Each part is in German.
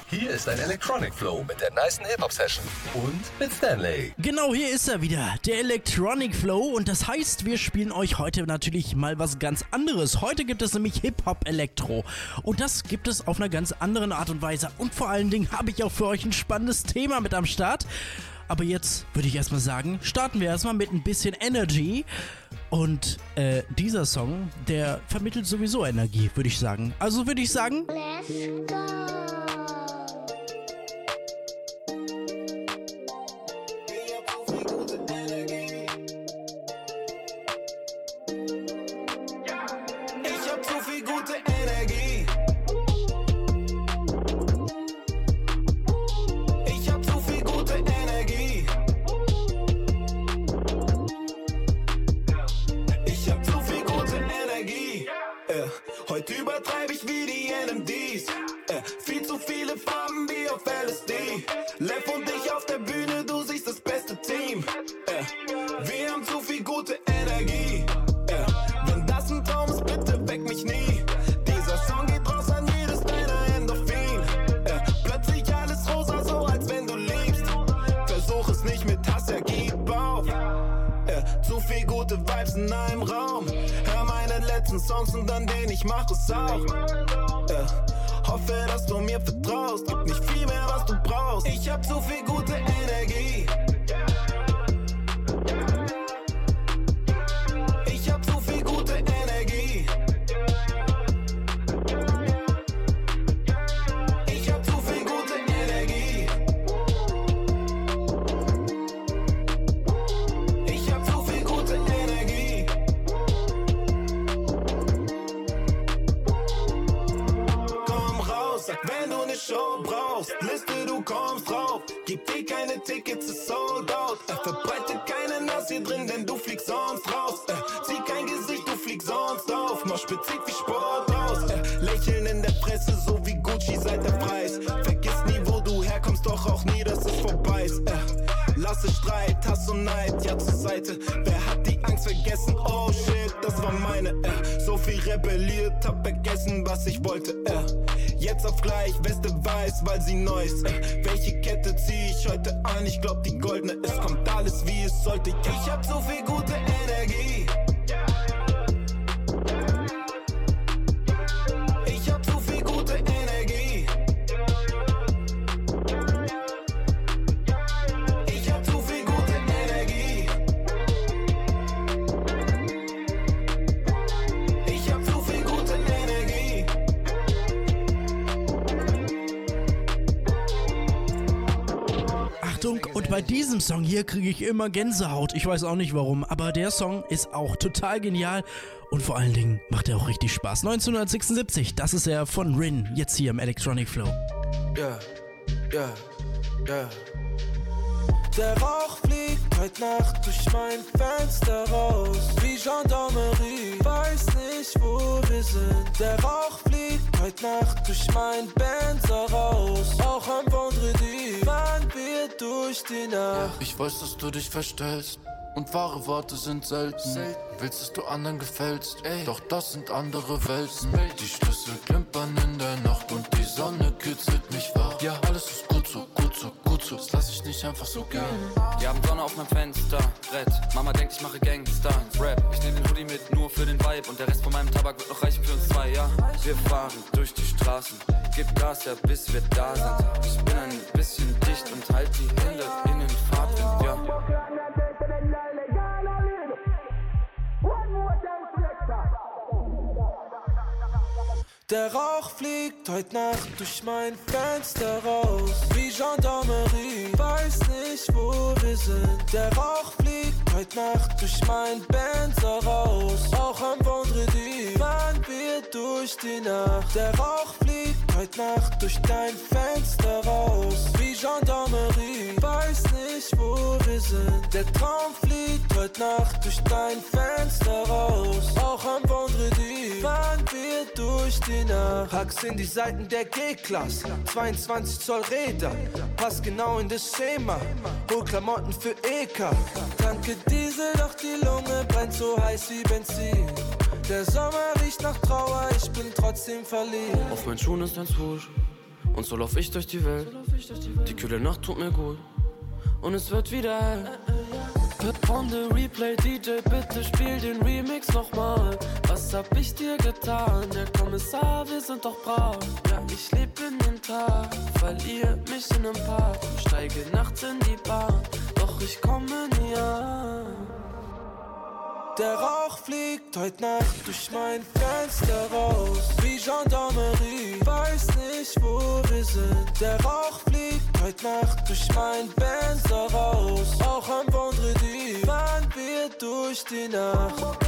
Hier ist ein Electronic Flow mit der nicen Hip-Hop-Session und mit Stanley. Genau, hier ist er wieder, der Electronic Flow, und das heißt, wir spielen euch heute natürlich mal was ganz anderes. Heute gibt es nämlich Hip-Hop-Elektro und das gibt es auf einer ganz anderen Art und Weise, und vor allen Dingen habe ich auch für euch ein spannendes Thema mit am Start. Aber jetzt würde ich erstmal sagen, starten wir erstmal mit ein bisschen Energy. Und dieser Song, der vermittelt sowieso Energie, würde ich sagen. Also würde ich sagen, Let's go. Ich hab zu viel gute Energie. Ich hab zu viel gute Energie. Ich hab zu viel gute Energie. Heute übertreibe ich wie die NMDs. Viel zu viele Farben wie auf LSD. Lev und ich auf der Bühne, du siehst das beste Team. Wir haben zu viel gute Energie. Wenn das ein Traum ist, bitte weck mich nie. Dieser Song geht raus an jedes deiner Endorphin. Plötzlich alles rosa, so als wenn du liebst. Versuch es nicht mit Hass, gib auf. Zu viel gute Vibes in einem Raum. Hör meine letzten Songs und dann den, ich mach es auch. Hoffe, dass du mir vertraust. Gib nicht viel mehr, was du brauchst. Ich hab zu viel gute Energie. Ich hab zu viel gute Energie. Ich hab zu viel gute Energie. Ich hab zu viel gute Energie. Komm raus, sag, wenn du ne Show brauchst. Liste, du kommst drauf. Gib dir keine Tickets, ist sold out. Verbreite keine Nass hier drin, denn du fliegst sonst raus. Zieh kein Gesicht, du fliegst sonst auf. Mach Spezif wie Sport aus. Lächeln in der Presse, so wie Gucci seit der Preis. Vergiss nie, wo du herkommst, doch auch nie, dass es vorbei ist. Lasse Streit, Hass und Neid, ja zur Seite. Wer hat die Angst vergessen? Oh shit, das war meine. So viel rebelliert, hab vergessen, was ich wollte. Jetzt auf gleich, Weste weiß, weil sie neu ist. Welche Kette zieh ich heute an? Ich glaub die goldene. Es kommt alles wie es sollte. Ich hab so viel gute Energie. Ich hab so viel gute Energie. Ich hab so viel gute Energie. Ich hab so viel gute Energie. Achtung, und bei diesem Song hier kriege ich immer Gänsehaut. Ich weiß auch nicht warum, aber der Song ist auch total genial und vor allen Dingen macht er auch richtig Spaß. 1976, das ist er von Rin, jetzt hier im Electronic Flow. Ja. Der Rauch fliegt heute Nacht durch mein Fenster raus, wie Gendarmerie, weiß nicht, wo wir sind. Der Rauch fliegt heute Nacht durch mein Benzer raus, auch am Vendredi fahren wir durch die Nacht. Ich weiß, dass du dich verstellst und wahre Worte sind selten. Willst, dass du anderen gefällst, doch das sind andere Welten. Die Schlüssel klimpern in der Nacht und die Sonne kitzelt mich wach. Ja, alles ist gut so, gut so, gut so, das lass ich nicht einfach so gehen. Wir haben Sonne auf meinem Fenster, Brett. Mama denkt, ich mache Gangster-Rap. Ich nehm den Hoodie mit nur für den Vibe und der Rest von meinem Tabak wird noch reichen für uns zwei, ja. Wir fahren durch die Straßen, gib Gas, ja, bis wir da sind. Ich bin ein bisschen dicht und halt die Hände in den Fahrtwind, ja. Der Rauch fliegt heute Nacht durch mein Fenster raus, wie Gendarmerie, weiß nicht, wo wir sind. Der Rauch fliegt heute Nacht durch mein Benzer raus, auch am Vendredi fahren wir durch die Nacht. Der Rauch fliegt heute Nacht durch dein Fenster raus, wie Gendarmerie, weiß nicht, wo wir sind. Der Traum fliegt heute Nacht durch dein Fenster raus, auch am Vendredi fahren wir durch die Nacht. Hacks in die Seiten der G-Klasse, 22 Zoll Räder, passt genau in das Schema, hol Klamotten für EK. Tanke Diesel, doch die Lunge brennt so heiß wie Benzin. Der Sommer riecht nach Trauer, ich bin trotzdem verliebt. Auf meinen Schuhen ist ein Swoosh Und so lauf ich durch die Welt. Die kühle Nacht tut mir gut und es wird wieder hell. On the replay, DJ, bitte spiel den Remix nochmal. Was hab ich dir getan? Der Kommissar, wir sind doch brav. Ja, ich leb in den Tag, verliere mich in nem Park. Steige nachts in die Bahn, doch ich komme nie an. Der Rauch fliegt heute Nacht durch mein Fenster raus. Wie Gendarmerie, weiß nicht, wo wir sind. Der Rauch fliegt heute Nacht durch mein Fenster raus. Auch am Vendredi fahren wir durch die Nacht.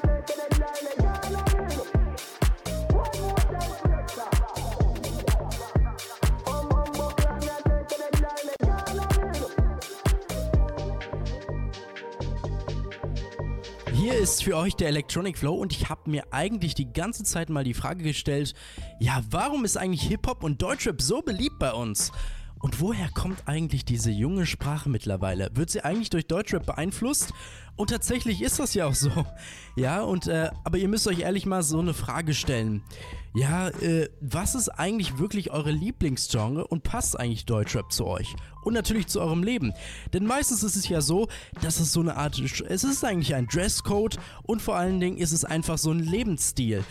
Hier ist für euch der Electronic Flow und ich habe mir eigentlich die ganze Zeit mal die Frage gestellt, ja, warum ist eigentlich Hip-Hop und Deutschrap so beliebt bei uns? Und woher kommt eigentlich diese junge Sprache mittlerweile? Wird sie eigentlich durch Deutschrap beeinflusst? Und tatsächlich ist das ja auch so. Ja, aber ihr müsst euch ehrlich mal so eine Frage stellen. Ja, was ist eigentlich wirklich eure Lieblingsgenre und passt eigentlich Deutschrap zu euch? Und natürlich zu eurem Leben. Denn meistens ist es ja so, dass es so eine Art, es ist eigentlich ein Dresscode und vor allen Dingen ist es einfach so ein Lebensstil.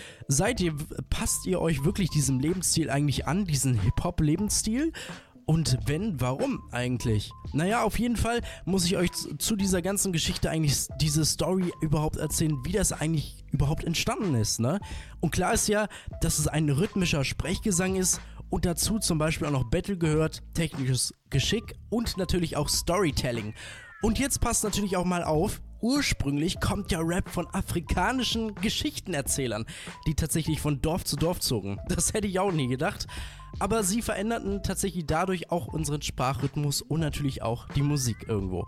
Passt ihr euch wirklich diesem Lebensstil eigentlich an, diesen Hip-Hop-Lebensstil? Und wenn, warum eigentlich? Naja, auf jeden Fall muss ich euch zu dieser ganzen Geschichte eigentlich diese Story überhaupt erzählen, wie das eigentlich überhaupt entstanden ist, ne? Und klar ist ja, dass es ein rhythmischer Sprechgesang ist und dazu zum Beispiel auch noch Battle gehört, technisches Geschick und natürlich auch Storytelling. Und jetzt passt natürlich auch mal auf, ursprünglich kommt ja Rap von afrikanischen Geschichtenerzählern, die tatsächlich von Dorf zu Dorf zogen. Das hätte ich auch nie gedacht. Aber sie veränderten tatsächlich dadurch auch unseren Sprachrhythmus und natürlich auch die Musik irgendwo.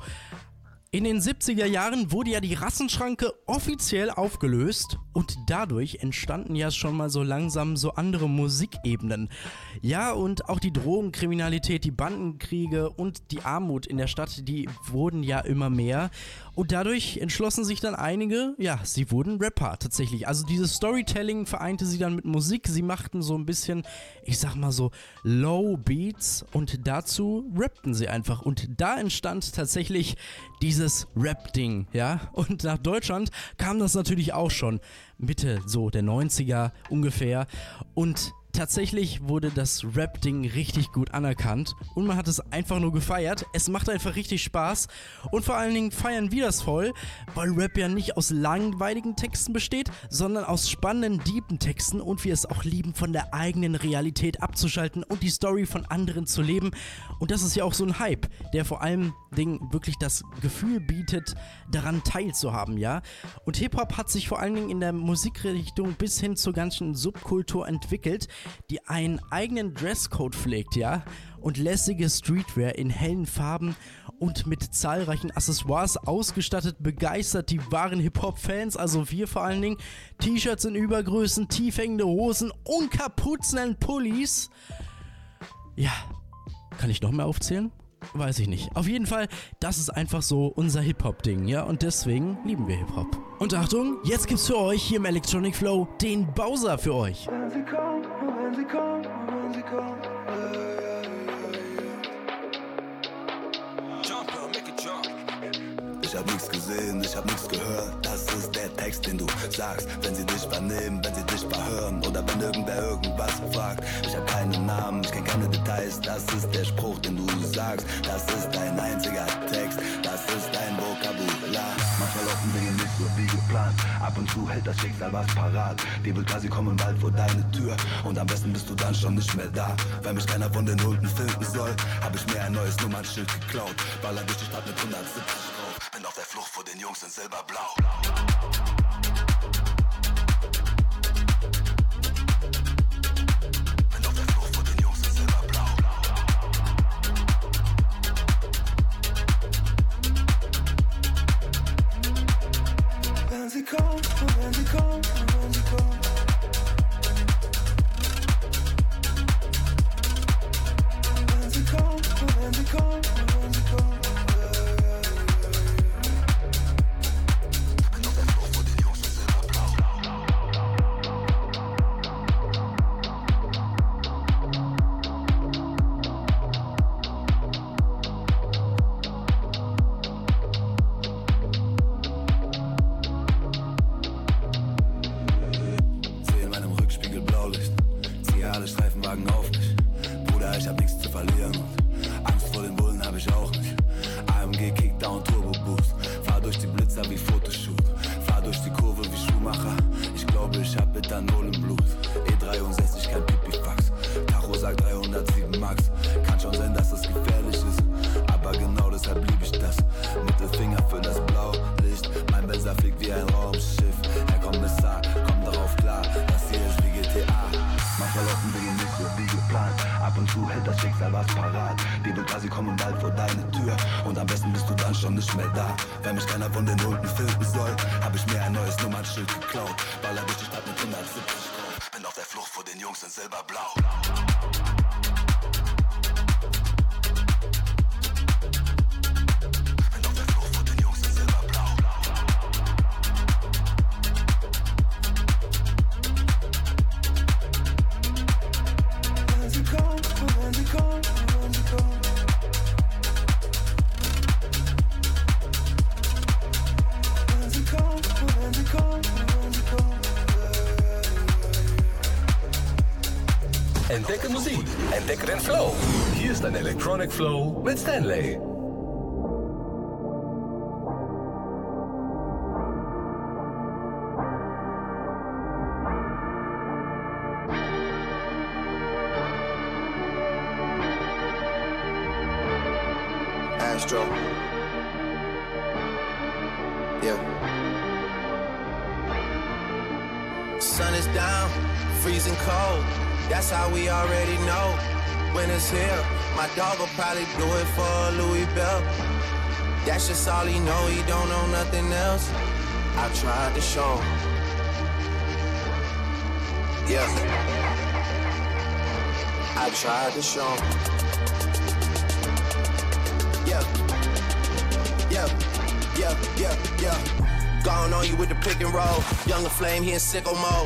In den 70er Jahren wurde ja die Rassenschranke offiziell aufgelöst und dadurch entstanden ja schon mal so langsam so andere Musikebenen. Ja, und auch die Drogenkriminalität, die Bandenkriege und die Armut in der Stadt, die wurden ja immer mehr. Und dadurch entschlossen sich dann einige, ja, sie wurden Rapper tatsächlich. Also dieses Storytelling vereinte sie dann mit Musik. Sie machten so ein bisschen, ich sag mal so, Low Beats und dazu rappten sie einfach. Und da entstand tatsächlich dieses Rap-Ding, ja. Und nach Deutschland kam das natürlich auch schon Mitte so der 90er ungefähr. Und tatsächlich wurde das Rap-Ding richtig gut anerkannt und man hat es einfach nur gefeiert. Es macht einfach richtig Spaß und vor allen Dingen feiern wir das voll, weil Rap ja nicht aus langweiligen Texten besteht, sondern aus spannenden, deepen Texten und wir es auch lieben, von der eigenen Realität abzuschalten und die Story von anderen zu leben. Und das ist ja auch so ein Hype, der vor allem wirklich das Gefühl bietet, daran teilzuhaben, ja. Und Hip-Hop hat sich vor allen Dingen in der Musikrichtung bis hin zur ganzen Subkultur entwickelt, die einen eigenen Dresscode pflegt, ja, und lässige Streetwear in hellen Farben und mit zahlreichen Accessoires ausgestattet begeistert die wahren Hip-Hop-Fans, also wir vor allen Dingen. T-Shirts in Übergrößen, tiefhängende Hosen und Kapuzen Pullis. Ja, kann ich noch mehr aufzählen? Weiß ich nicht. Auf jeden Fall, das ist einfach so unser Hip-Hop-Ding, ja? Und deswegen lieben wir Hip-Hop. Und Achtung, jetzt gibt's für euch hier im Electronic Flow den Bowser für euch. Wenn sie kommt, wenn sie kommt, wenn sie kommt. Ich hab nichts gesehen, ich hab nichts gehört. Das ist der Text, den du sagst. Wenn sie dich vernehmen, wenn sie dich verhören oder wenn irgendwer irgendwas fragt. Ich hab keinen Namen, ich kenn keine Details. Das ist der Spruch, den du sagst. Das ist dein einziger Text, das ist dein Vokabular. Manchmal laufen Dinge nicht so wie geplant. Ab und zu hält das Schicksal was parat. Die will quasi kommen bald vor deine Tür. Und am besten bist du dann schon nicht mehr da. Weil mich keiner von den Nulpen finden soll, hab ich mir ein neues Nummernschild geklaut. Baller durch die Stadt mit 170 drauf. Bin auf der Flucht vor den Jungs in Silberblau. Bin auf der Flucht vor den Jungs in Silberblau. Wenn sie kommt, wenn sie kommt, wenn sie kommt. Wenn sie kommt, wenn sie kommt, wenn sie kommt. Bruder, ich hab nichts zu verlieren. Angst vor den Bullen hab ich auch nicht. AMG, Kickdown, Turbo Boost. Fahr durch die Blitzer wie Fotoshoot. Fahr durch die Kurve wie Schumacher. Ich glaube, ich hab Ethanol im Blut. E63, kein Pipifax. Tacho sagt 307 Max. Kann schon sein, dass das gefährlich ist, aber genau deshalb lieb ich das. Mittelfinger für das Blaulicht. Mein Benzer fliegt wie ein Raumschiff. Herr Kommissar, komm darauf klar, das hier ist wie GTA. Manchmal laufen Dinge nicht so wie geplant. Ab und zu hält das Schicksal was parat. Die Bulgari kommen bald vor deine Tür. Und am besten bist du dann schon nicht mehr da. Wenn mich keiner von den Hunden filmen soll, hab ich mir ein neues Nummernschild geklaut. Baller durch die Stadt mit 170 drauf. Bin auf der Flucht vor den Jungs in Silberblau. Entdecke Musik, entdecke den Flow. Hier ist ein Electronic Flow mit Stanley. Astro. Yeah. Sun is down, freezing cold. That's how we already know when it's here. My dog will probably do it for Louis Bell. That's just all he know, he don't know nothing else. I tried to show him. Yeah. I tried to show him. Yeah. Yeah. Yeah. Yeah. Yeah. Gone on you with the pick and roll. Younger Flame, he in sicko mode.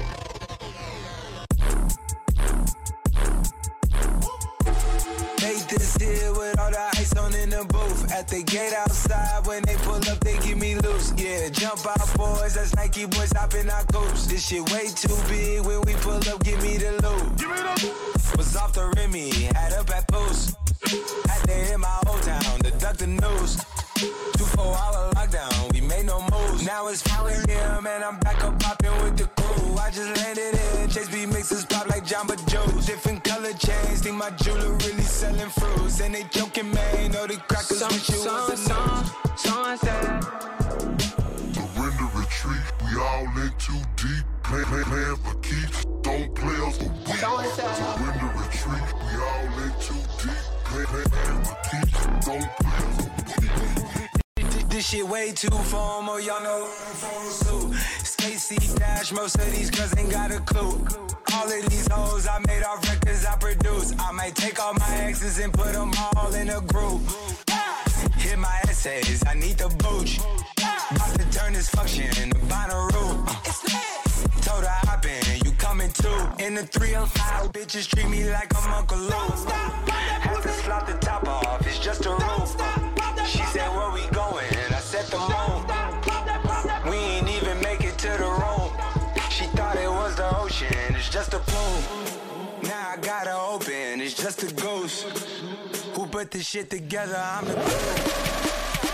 This here with all the ice on in the booth. At the gate outside, when they pull up, they give me loose. Yeah, jump out boys, that's Nike boys hopping our coast. This shit way too big. When we pull up, give me the loot. Give me the loot. Was off the Remy, had up at post. Had to hit my old town to duck the news. 2-4-hour lockdown, we made no moves. Now it's 4 a.m. and I'm back up popping with the crew. I just landed in, Chase B mixes pop like Jamba Joe's. Different color chains, think my jeweler really selling fruits. And they joking, man, know the crackers wish it was a news. Surrender retreat, we all in too deep. Plan for keeps, don't play us for weak. Surrender retreat, we all in too deep. Plan for keeps, don't play us for weak. This shit way too formal, y'all know too. Stacy Dash, most of these girls ain't got a clue. All of these hoes I made off records I produce. I might take all my exes and put them all in a group. Hit my essays, I need the booch. About to turn this function into Bonnaroo. Told her hop in, you coming too. In the 305, bitches treat me like I'm Uncle Lou. Had to slot the top off, it's just a roof. She said, where we going? I said the moon. We ain't even make it to the room. She thought it was the ocean, it's just a plume. Now I gotta open, it's just a ghost. Who put this shit together? I'm the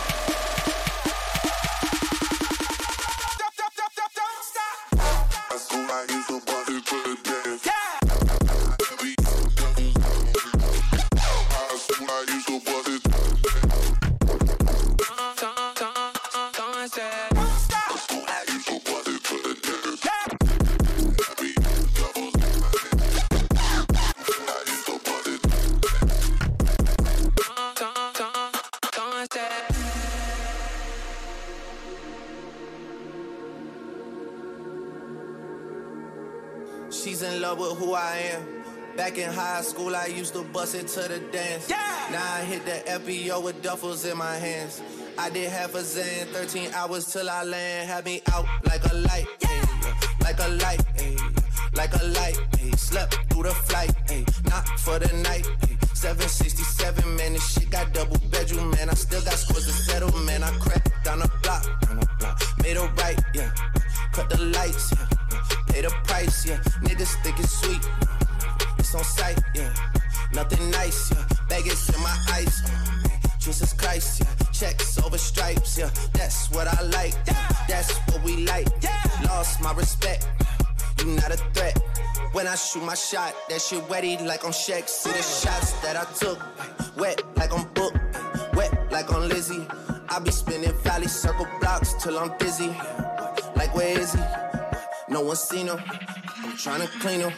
She's in love with who I am. Back in high school, I used to bust it to the dance. Yeah. Now I hit the FBO with duffels in my hands. I did half a Zan, 13 hours till I land. Had me out like a light, yeah. Like a light, ay. Like a light, ay. Slept through the flight, ay. Not for the night, ay. 767, man, this shit got double bedroom, man. I still got scores to settle, man. I cracked down the block, made a right, yeah. Cut the lights, yeah. Pay the price, yeah. Niggas think it's sweet, it's on sight, yeah. Nothing nice, yeah. Vegas in my ice. Jesus Christ, yeah. Checks over stripes, yeah. That's what I like. That's what we like. Lost my respect. You not a threat. When I shoot my shot, that shit wetty like on Shaq. See the shots that I took. Wet like on Book. Wet like on Lizzie. I be spinning valley circle blocks till I'm dizzy. Like where is he? No one seen him. I'm tryna clean him.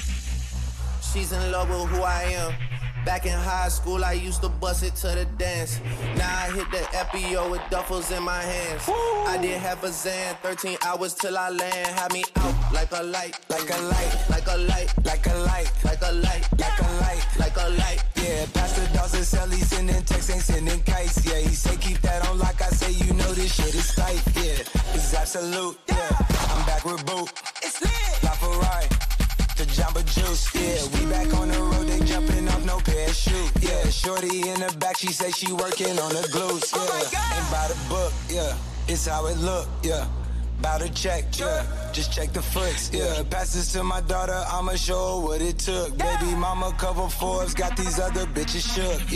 She's in love with who I am. Back in high school, I used to bust it to the dance. Now I hit the FBO with duffels in my hands. I did half a Zan, 13 hours till I land. Had me out like a light, like a light, like a light, like a light, like a light, like a light, like a light. Yeah, Pastor Dawson sell, he sending texts, ain't sending kites. Yeah, he say keep that on like I say, you know this shit is tight. Yeah, it's absolute. Yeah, I'm back with Boot. It's lit. LaFerrari. The Jamba Juice, yeah, we back on the road, they jumping off no parachute, yeah, shorty in the back, she say she working on the glutes, yeah, ain't by the book, yeah, it's how it look, yeah, bout to check, yeah, just check the foots, yeah, pass this to my daughter, I'ma show her what it took, baby mama cover Forbes, got these other bitches shook,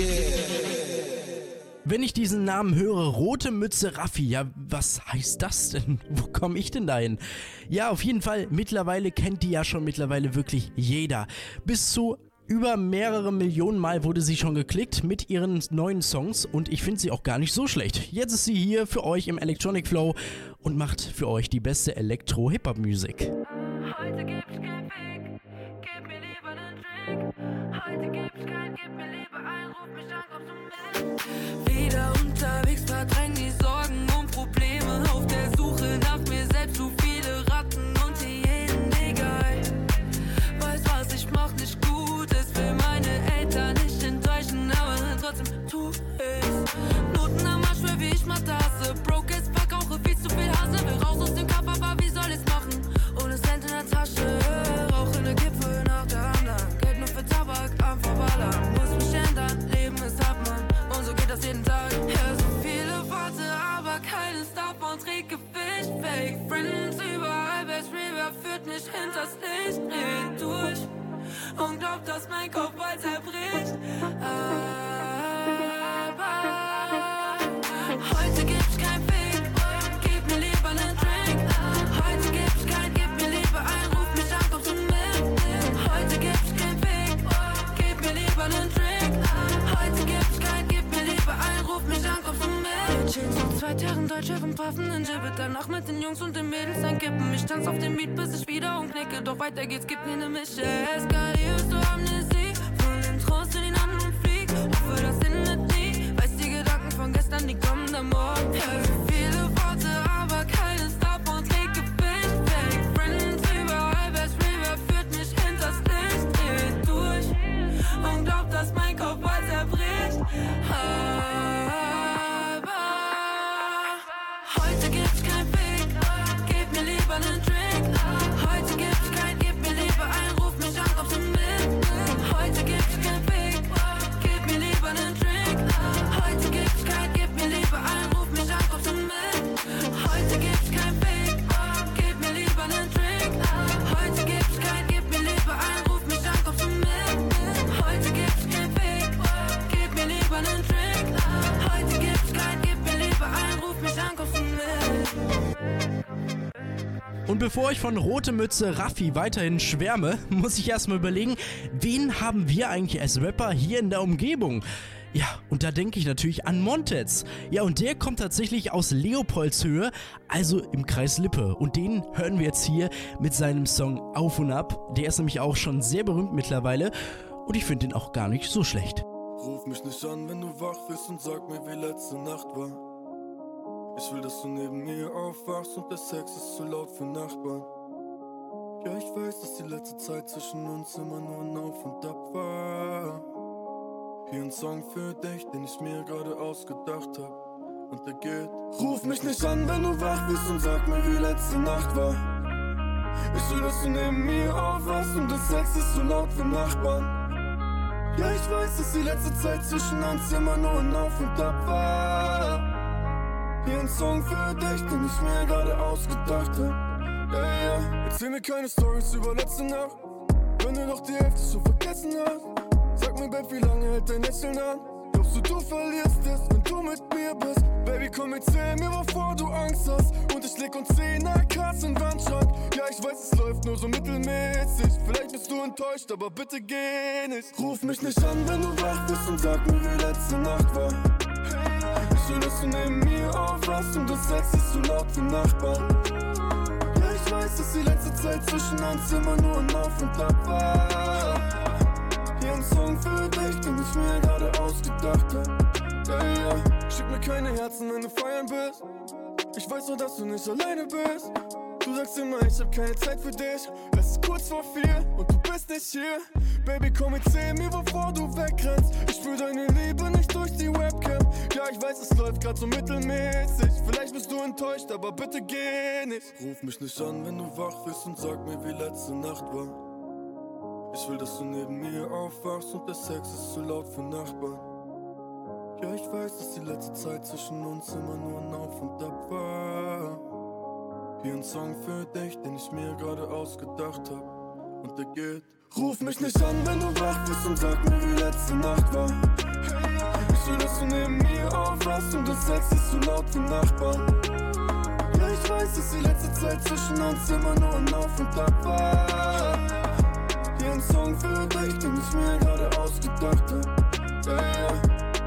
yeah. Wenn ich diesen Namen höre, Rote Mütze Raffi, ja, was heißt das denn? Wo komme ich denn dahin? Ja, auf jeden Fall, mittlerweile kennt die ja schon wirklich jeder. Bis zu über mehrere Millionen Mal wurde sie schon geklickt mit ihren neuen Songs und ich finde sie auch gar nicht so schlecht. Jetzt ist sie hier für euch im Electronic Flow und macht für euch die beste Elektro-Hip-Hop-Musik. Heute gibt's kein Fick, gib mir lieber nen Drink. Heute gibt's kein, gib mir lieber ein, ruf mich an, kommst du mit? Wieder unterwegs, verdräng die Sorgen und Probleme. Auf der Suche nach mir selbst, zu viele Ratten und Hyänen, egal. Weiß, was ich mach, nicht gut ist, will meine Eltern nicht enttäuschen, aber trotzdem tu ich's. Noten am Arsch, für wie ich mal tasse. Broke as fuck, rauche viel zu viel Hase. Will raus aus dem Kopf, aber wie soll ich's machen? Ohne Cent in der Tasche, rauche eine Kippe nach der anderen. Geld nur für Tabak, am Verballern. Muss mich ändern, Leben ist hart, Mann. Und so geht das jeden Tag. Ja, so viele Worte, aber keines davon trägt Gewicht. Fake Friends überall, Best River führt mich hinters Licht. Dreh durch und glaub, dass mein Kopf bald zerbricht. Aber heute gibt's kein Fick, gib mir lieber nen Drink. Heute gibt's kein, gib mir lieber ein, ruf mich an, kommst du mit? Heute gibt's kein Fick, gib mir lieber nen Drink. Heute gibt's kein, gib mir lieber ein, ruf mich an, kommst du mit? Wir chillen so 2 Terren, Deutsche vom Paffen in Gibbet. Danach mit den Jungs und den Mädels einkippen. Ich tanz auf dem Beat, bis ich wieder umknicke. Doch weiter geht's, gib mir ne Mische. Eskalierst du Amnesie, von den Trost in den anderen flieg. Hoffe, das endet nie. Weiß die Gedanken von gestern, die kommen am Morgen. Ja, so viele Worte, aber keines davon trägt Gewicht. Fake Friends überall, Best River führt mich hinters Licht. Dreh durch und glaub, dass mein Kopf bald zerbricht. Aber heute gibt's kein Fick, gib mir lieber nen Drink. Heute gibt's kein, gib mir lieber ein, ruf mich an, kommst du mit? Heute gibt's kein Fick, gib mir lieber nen Drink. Heute gibt's kein, gib mir lieber ein, ruf mich an, kommst du mit? Heute gibt's kein Fick, gib mir lieber nen Drink. Heute gibt's kein, gib mir lieber ein, ruf mich an, kommst du mit? Heute gibt's kein Fick, gib mir lieber nen Drink. Heute gibt's kein, gib mir lieber ein, ruf mich an, kommst du mit? Und bevor ich von Rote Mütze Raffi weiterhin schwärme, muss ich erstmal überlegen, wen haben wir eigentlich als Rapper hier in der Umgebung? Ja, und da denke ich natürlich an Montez. Ja, und der kommt tatsächlich aus Leopoldshöhe, also im Kreis Lippe. Und den hören wir jetzt hier mit seinem Song Auf und Ab. Der ist nämlich auch schon sehr berühmt mittlerweile und ich finde den auch gar nicht so schlecht. Ruf mich nicht an, wenn du wach bist und sag mir, wie letzte Nacht war. Ich will, dass du neben mir aufwachst und der Sex ist zu laut für Nachbarn. Ja, ich weiß, dass die letzte Zeit zwischen uns immer nur ein Auf und Ab war. Hier ein Song für dich, den ich mir gerade ausgedacht hab. Und der geht: Ruf mich nicht an, wenn du wach bist und sag mir, wie letzte Nacht war. Ich will, dass du neben mir aufwachst und der Sex ist zu laut für Nachbarn. Ja, ich weiß, dass die letzte Zeit zwischen uns immer nur ein Auf und Ab war. Hier ein Song für dich, den ich mir gerade ausgedacht hab. Yeah. Erzähl mir keine Stories über letzte Nacht, wenn du doch die Hälfte so vergessen hast. Sag mir, Babe, wie lange hält dein Lächeln an? Glaubst du verlierst es, wenn du mit mir bist? Baby, komm, erzähl mir, wovor du Angst hast. Und ich leg uns 10 AKs in den Wandschrank. Ja, ich weiß, es läuft nur so mittelmäßig. Vielleicht bist du enttäuscht, aber bitte geh nicht. Ruf mich nicht an, wenn du wach bist und sag mir, wie letzte Nacht war. Ich will, dass du neben mir aufwachst und das Sex ist so laut wie Nachbarn. Ja, ich weiß, dass die letzte Zeit zwischen uns immer nur ein Auf und Ab war. Hier ein Song für dich, den ich mir gerade ausgedacht hab. Yeah. Schick mir keine Herzen, wenn du feiern bist. Ich weiß nur, dass du nicht alleine bist. Du sagst immer, ich hab keine Zeit für dich. Es ist kurz vor 4 und du bist nicht hier. Baby, komm, erzähl mir, wovor du wegrennst. Ich spür deine Liebe nicht durch die Webcam. Ja, ich weiß, es läuft grad so mittelmäßig. Vielleicht bist du enttäuscht, aber bitte geh nicht. Ruf mich nicht an, wenn du wach bist und sag mir, wie letzte Nacht war. Ich will, dass du neben mir aufwachst und der Sex ist zu laut für Nachbarn. Ja, ich weiß, dass die letzte Zeit zwischen uns immer nur ein Auf und Ab war. Hier ein Song für dich, den ich mir gerade ausgedacht hab. Und der geht: Ruf mich nicht an, wenn du wach bist und sag mir, wie letzte Nacht war. Ich will, dass du neben mir aufwachst und das Sex ist zu laut für Nachbarn. Ja, ich weiß, dass die letzte Zeit zwischen uns immer nur ein Auf und Ab war. Hier ein Song für dich, den ich mir gerade ausgedacht hab. Yeah.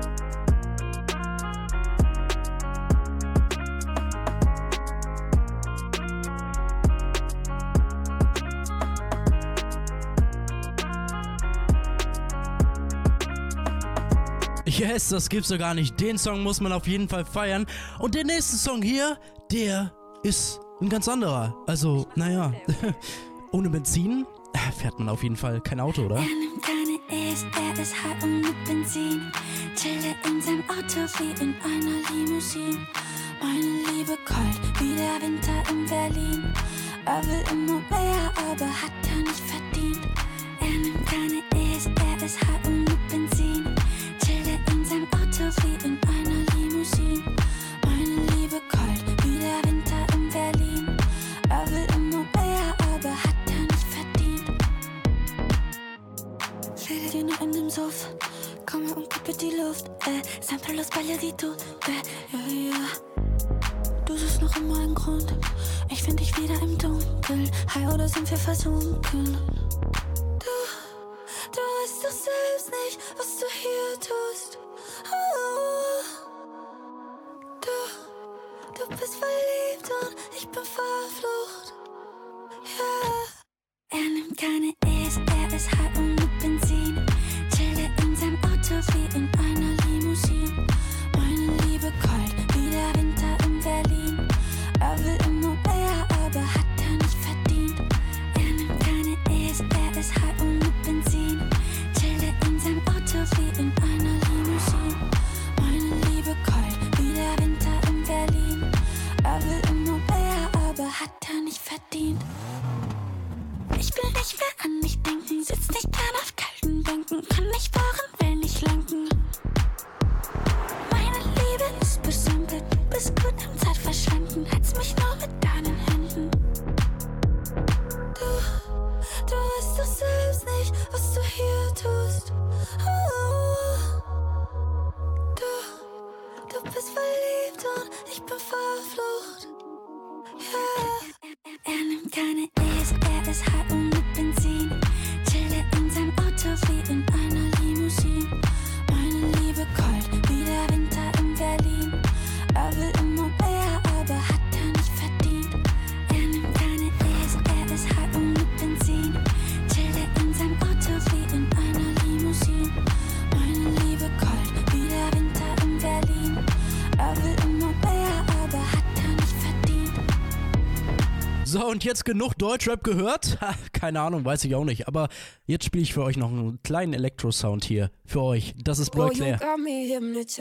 Yes, das gibt's doch gar nicht. Den Song muss man auf jeden Fall feiern. Und der nächste Song hier, der ist ein ganz anderer. Also, naja, ohne Benzin fährt man auf jeden Fall kein Auto, oder? Er nimmt keine E's, er ist high und mit Benzin. Chillt in seinem Auto wie in einer Limousine. Meine Liebe kalt wie der Winter in Berlin. Er will immer mehr, aber hat er nicht verdient. Er nimmt keine E's, er ist high und mit Benzin. In seinem Auto wie in einer Limousine. Meine Liebe kalt wie der Winter in Berlin. Er will immer mehr, aber hat er nicht verdient. Stell dir nur in dem Sof. Komm her und gib mir die Luft. Sempre los balladito. Ja. Du suchst noch immer einen Grund. Ich find dich wieder im Dunkeln. High oder sind wir versunken? Du weißt doch selbst nicht, was du hier tust. Du bist verliebt und ich bin verflucht. Yeah. Er nimmt keine E's, er ist high und mit Benzin. Chillt in seinem Auto wie in einer Limousine. Meine Liebe kalt wie der Winter in Berlin. Er will immer mehr, aber hat er nicht verdient. Er nimmt keine E's, er ist high und mit Benzin. Chillt in seinem Auto wie in einer Limousine. Meine Liebe kalt wie der Winter in Berlin. Er will immer mehr, aber hat er nicht verdient. Ich will nicht mehr an mich denken, sitz nicht gern auf kalten Bänken, kann nicht fahren, will nicht lenken. Meine Liebe ist besimpelt, du bist gut im Zeitverschwenden, halt's mich nur mit deinen Händen. Du weißt doch selbst nicht, was du hier tust. Du bist verliebt und ich bin verflucht. Yeah. Er nimmt keine E's, er ist high und mit Benzin. Chillt in seinem Auto wie in einer Limousine. Meine Liebe kalt wie der Winter in Berlin. Er will immer mehr, aber hat er nicht verdient. Er nimmt keine E's, er ist high und mit Benzin. Chillt in seinem Auto wie in einer Limousine. Meine Liebe kalt wie der Winter in Berlin. Er will immer mehr, aber hat er nicht verdient. So, und jetzt genug Deutschrap gehört? Ha, keine Ahnung, weiß ich auch nicht. Aber jetzt spiele ich für euch noch einen kleinen Elektro-Sound hier. Für euch. Das ist Blood Claire. You got me hypnotized.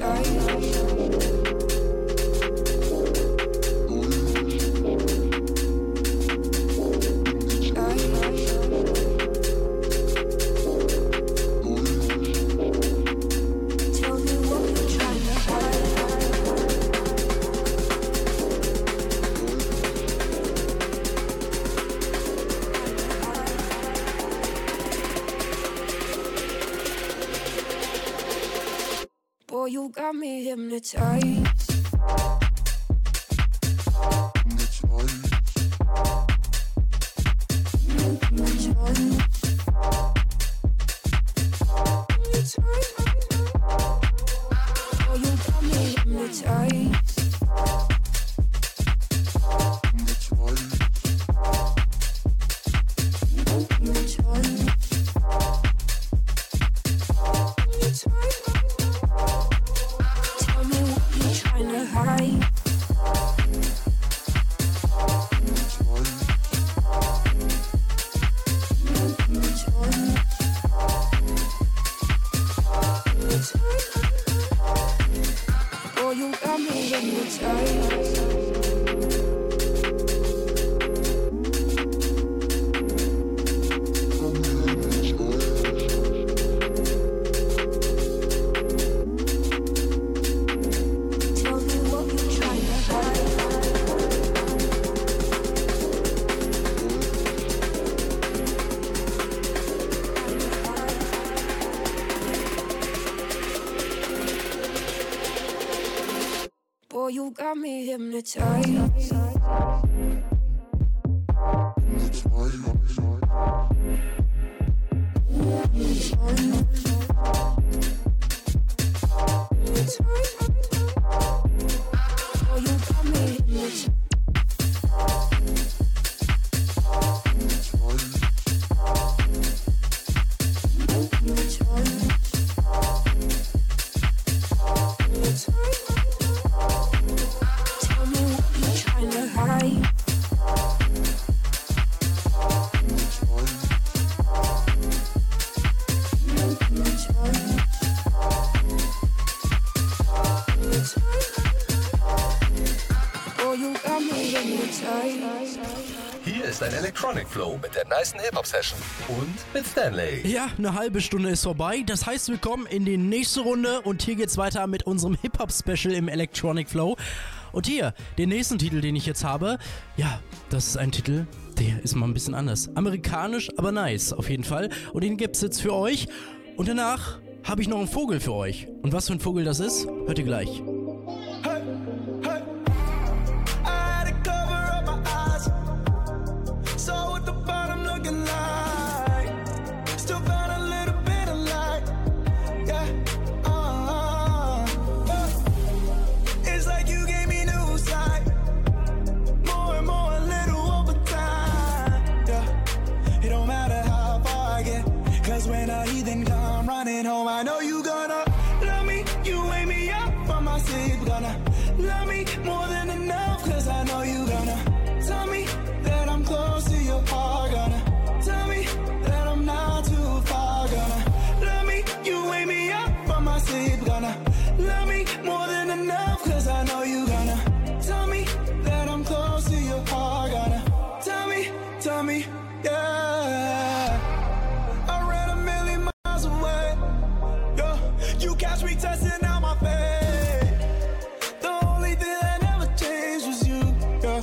Boy, you got me hypnotized. Boy, you got me hypnotized. Hier ist ein Electronic Flow mit der nicen Hip-Hop-Session und mit Stanley. Ja, eine halbe Stunde ist vorbei. Das heißt, wir kommen in die nächste Runde und hier geht's weiter mit unserem Hip-Hop-Special im Electronic Flow. Und hier, den nächsten Titel, den ich jetzt habe, ja, das ist ein Titel, der ist mal ein bisschen anders. Amerikanisch, aber nice, auf jeden Fall. Und den gibt's jetzt für euch. Und danach habe ich noch einen Vogel für euch. Und was für ein Vogel das ist, hört ihr gleich. Home, I know you gonna love me, you wake me up from my sleep, gonna love me more than enough, cause I know you gonna tell me that I'm close to your heart, gonna tell me that I'm not too far, gonna love me, you wake me up from my sleep, gonna love me more than enough, cause I know you gonna tell me that I'm close to your heart, gonna tell me, yeah. I ran a million miles away. You catch me testing out my faith. The only thing that never changed was you, yeah.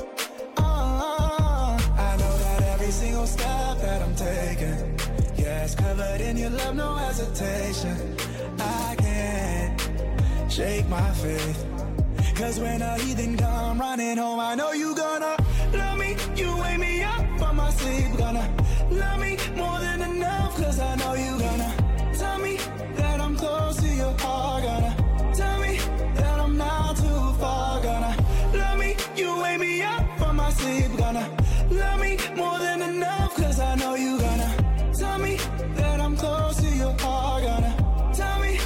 I know that every single step that I'm taking, yeah, it's covered in your love, no hesitation. I can't shake my faith, cause when a heathen come running home, I know you gonna love me, you wake me up from my sleep, gonna love me more than enough, cause I know you gonna tell me that I'm close to your heart, gonna tell me that I'm not too far, gonna love me, you wake me up from my sleep, gonna love me more than enough, cause I know you gonna tell me that I'm close to your heart, gonna tell me,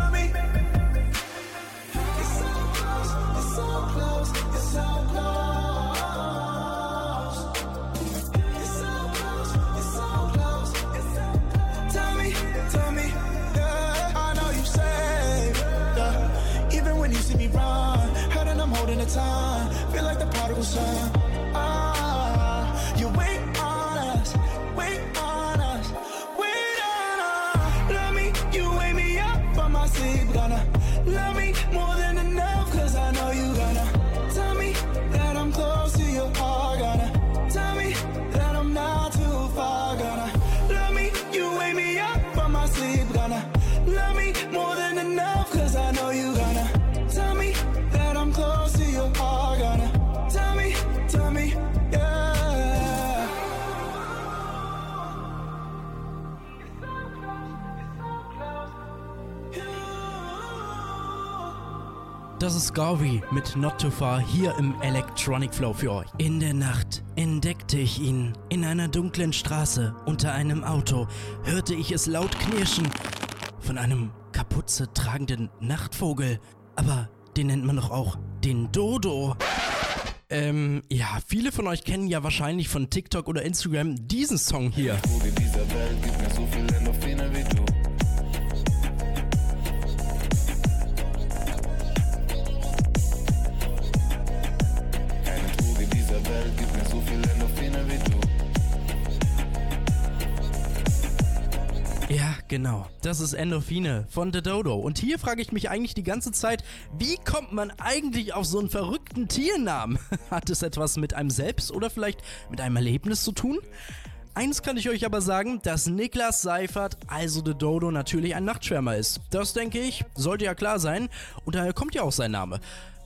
it's so close, it's so close, it's so close. Holding the time, feel like the prodigal son. You wait on us, wait on us, wait on us. Love me, you wake me up from my sleep, gonna love me more than enough, cause I know you gonna tell me that I'm close to your heart, gonna tell me that I'm not too far, gonna love me, you wake me up from my sleep, gonna love me more than enough, cause I know you Das ist Garvey mit Not Too Far hier im Electronic Flow für euch. In der Nacht entdeckte ich ihn in einer dunklen Straße. Unter einem Auto hörte ich es laut knirschen von einem Kapuze tragenden Nachtvogel. Aber den nennt man doch auch den Dodo. Ja, viele von euch kennen ja wahrscheinlich von TikTok oder Instagram diesen Song hier. Droge dieser Welt gibt mir so viel Endorphine wie du. Keine Droge dieser Welt gibt mir so viel Endorphine wie du. Ja, genau. Das ist Endorphine von The Dodo. Und hier frage ich mich eigentlich die ganze Zeit, wie kommt man eigentlich auf so einen verrückten Tiernamen? Hat es etwas mit einem selbst oder vielleicht mit einem Erlebnis zu tun? Eins kann ich euch aber sagen, dass Niklas Seifert, also The Dodo, natürlich ein Nachtschwärmer ist. Das denke ich, sollte ja klar sein. Und daher kommt ja auch sein Name.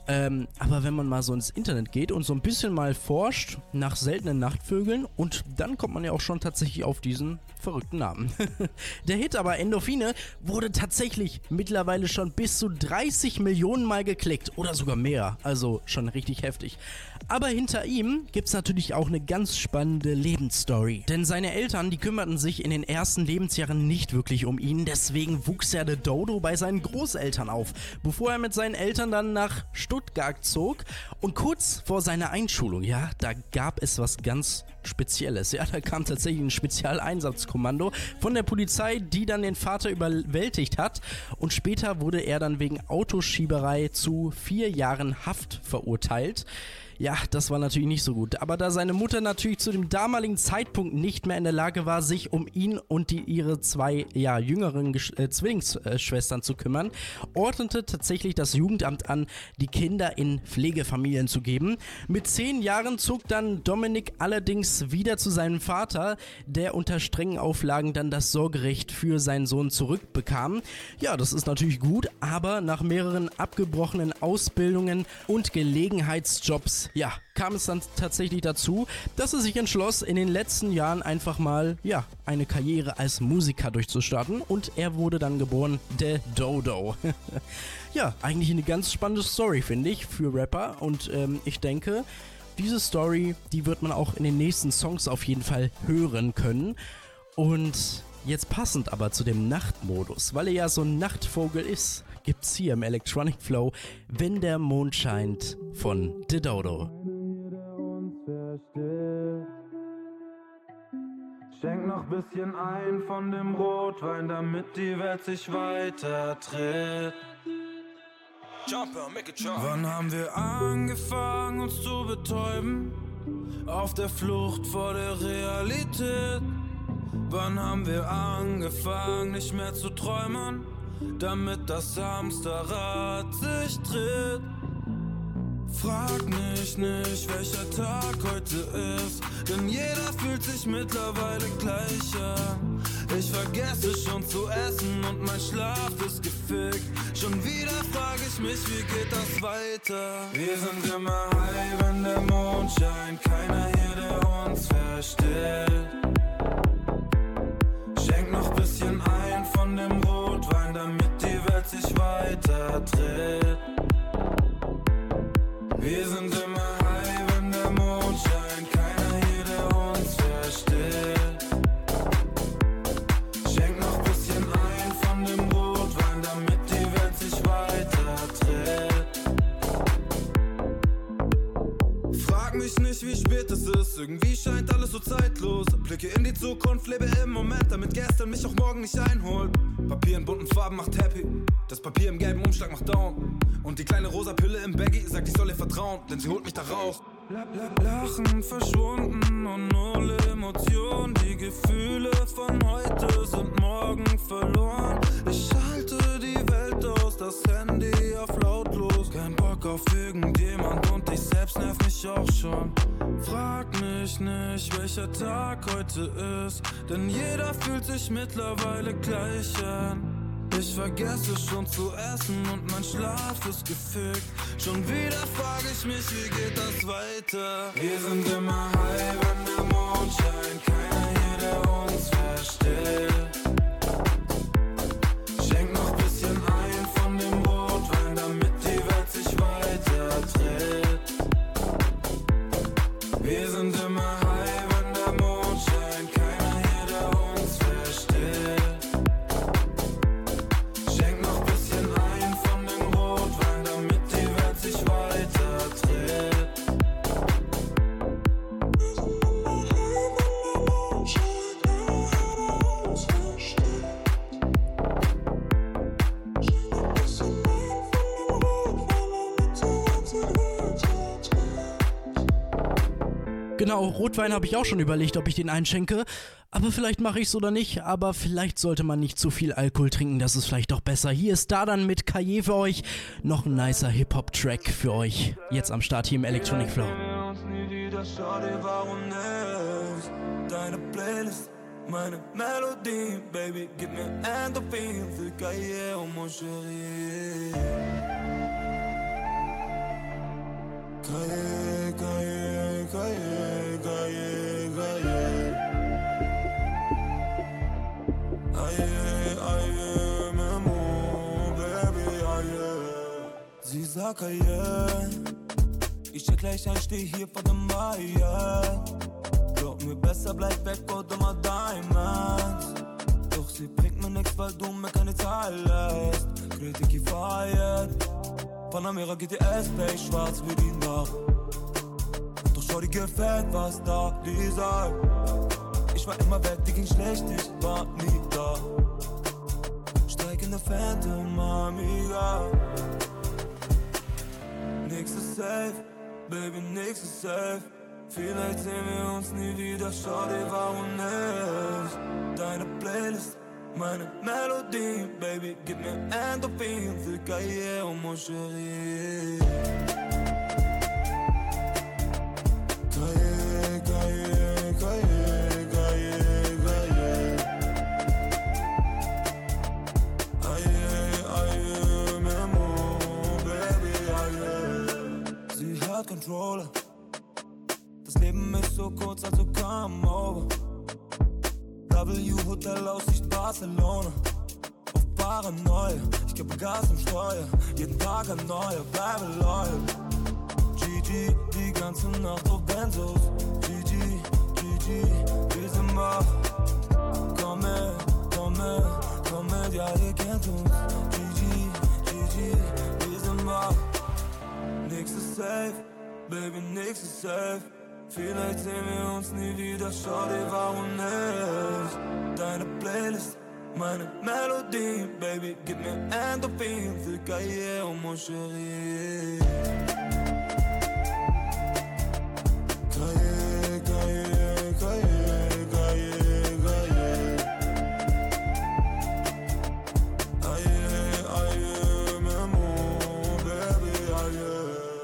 Aber wenn man mal so ins Internet geht und so ein bisschen mal forscht nach seltenen Nachtvögeln, und dann kommt man ja auch schon tatsächlich auf diesen verrückten Namen. Der Hit aber Endorphine wurde tatsächlich mittlerweile schon bis zu 30 Millionen Mal geklickt oder sogar mehr, also schon richtig heftig. Aber hinter ihm gibt's natürlich auch eine ganz spannende Lebensstory. Denn seine Eltern, die kümmerten sich in den ersten Lebensjahren nicht wirklich um ihn, deswegen wuchs er The Dodo bei seinen Großeltern auf, bevor er mit seinen Eltern dann nach Stuttgart zog. Und kurz vor seiner Einschulung, ja, da gab es was ganz Spezielles. Ja, da kam tatsächlich ein Spezialeinsatzkommando von der Polizei, die dann den Vater überwältigt hat. Und später wurde er dann wegen Autoschieberei zu 4 Jahren Haft verurteilt. Ja, das war natürlich nicht so gut. Aber da seine Mutter natürlich zu dem damaligen Zeitpunkt nicht mehr in der Lage war, sich um ihn und ihre 2 jüngeren Zwillingsschwestern zu kümmern, ordnete tatsächlich das Jugendamt an, die Kinder in Pflegefamilien zu geben. Mit 10 Jahren zog dann Dominik allerdings wieder zu seinem Vater, der unter strengen Auflagen dann das Sorgerecht für seinen Sohn zurückbekam. Ja, das ist natürlich gut, aber nach mehreren abgebrochenen Ausbildungen und Gelegenheitsjobs kam es dann tatsächlich dazu, dass er sich entschloss, in den letzten Jahren einfach mal, eine Karriere als Musiker durchzustarten, und er wurde dann geboren, The Dodo. Ja, eigentlich eine ganz spannende Story, finde ich, für Rapper, und ich denke, diese Story, die wird man auch in den nächsten Songs auf jeden Fall hören können. Und jetzt passend aber zu dem Nachtmodus, weil er ja so ein Nachtvogel ist, gibt's hier im Electronic Flow Wenn der Mond scheint von The Dodo. Schenk noch bisschen ein von dem Rotwein, damit die Welt sich weiter dreht. Wann haben wir angefangen, uns zu betäuben? Auf der Flucht vor der Realität. Wann haben wir angefangen, nicht mehr zu träumen, damit das Hamsterrad sich dreht? Frag mich nicht, welcher Tag heute ist, denn jeder fühlt sich mittlerweile gleich an. Ich vergesse schon zu essen und mein Schlaf ist gefickt. Schon wieder frag ich mich, wie geht das weiter? Wir sind immer high, wenn der Mond scheint, keiner hier, der uns versteht. Schenk noch bisschen ein von dem Rotwein, damit die Welt sich weiter dreht. Wir sind immer high, wenn der Mond scheint, keiner hier, der uns versteht. Schenk noch bisschen ein von dem Rotwein, damit die Welt sich weiter dreht. Frag mich nicht, wie spät es ist, irgendwie scheint alles so zeitlos. Blicke in die Zukunft, lebe im Moment, damit gestern mich auch morgen nicht einholt. Papier in bunten Farben macht happy, das Papier im gelben Umschlag macht down. Und die kleine rosa Pille im Baggy sagt, ich soll ihr vertrauen, denn sie holt mich da raus. Lachen verschwunden und null Emotionen. Die Gefühle von heute sind morgen verloren. Ich schalte die Welt aus, das Handy auf lautlos. Kein Bock auf irgendjemand und ich selbst nerv mich auch schon. Frag mich nicht, welcher Tag heute ist, denn jeder fühlt sich mittlerweile gleich an. Ich vergesse schon zu essen und mein Schlaf ist gefickt. Schon wieder frag ich mich, wie geht das weiter? Wir sind immer high, wenn der Mond scheint, keiner hier, der uns versteht. Schenk noch bisschen ein von dem Rotwein, damit die Welt sich Genau, Rotwein habe ich auch schon überlegt, ob ich den einschenke. Aber vielleicht mache ich es oder nicht. Aber vielleicht sollte man nicht zu viel Alkohol trinken, das ist vielleicht doch besser. Hier ist Dardan mit Kaye für euch. Noch ein nicer Hip-Hop-Track für euch. Jetzt am Start hier im Electronic Flow. Schau dir, warum nicht? Deine Playlist, meine Melodie, Baby, gib mir Endorphin für Kaye und mon chéri. Kaye, Kaye, Kaye, Kaye, Kaye. Aye, aye, Memo, Baby, aye. Sie sagt Kaye, ich check gleich ein, steh hier vor dem Meier. Glaub mir, besser bleib weg oder mal Diamonds. Doch sie bringt mir nix, weil du mir keine Zahl lässt. Kritik gefeiert, Panamera GTS, Play schwarz wie die Nacht. Doch schau, die gefällt, was da, Lisa. Ich war immer weg, die ging schlecht, ich war nie da. Steig in der Phantom, Amiga. Nix ist safe, Baby, nix ist safe. Vielleicht sehen wir uns nie wieder, schau dir, warum nicht? Deine Playlist, meine Melodie, Baby, gib mir Endorphin für Kaye und mon chéri. Kaye, Kaye, Kaye, Kaye, Kaye. Aye, aye, Memo, Baby, aye. Sie hat Controller. Das Leben ist so kurz, also come over. W Hotel Aussicht Barcelona. Auf Paranoia, ich gebe Gas im Steuer. Jeden Tag ein neuer, bleibe loyal. GG, die ganze Nacht auf Benzos. GG, GG, wir sind wach. Komm mit, ja ihr kennt uns. GG, GG, wir sind wach. Nix ist safe, Baby, nix ist safe. Vielleicht sehen wir uns nie wieder, schau dir, warum nicht? Deine Playlist, meine Melodie, Baby, gib mir Endorphin für Kaye und mon chéri. Kaye, Kaye, Kaye, Kaye, Kaye. Aye, aye, Memo, Baby, aye.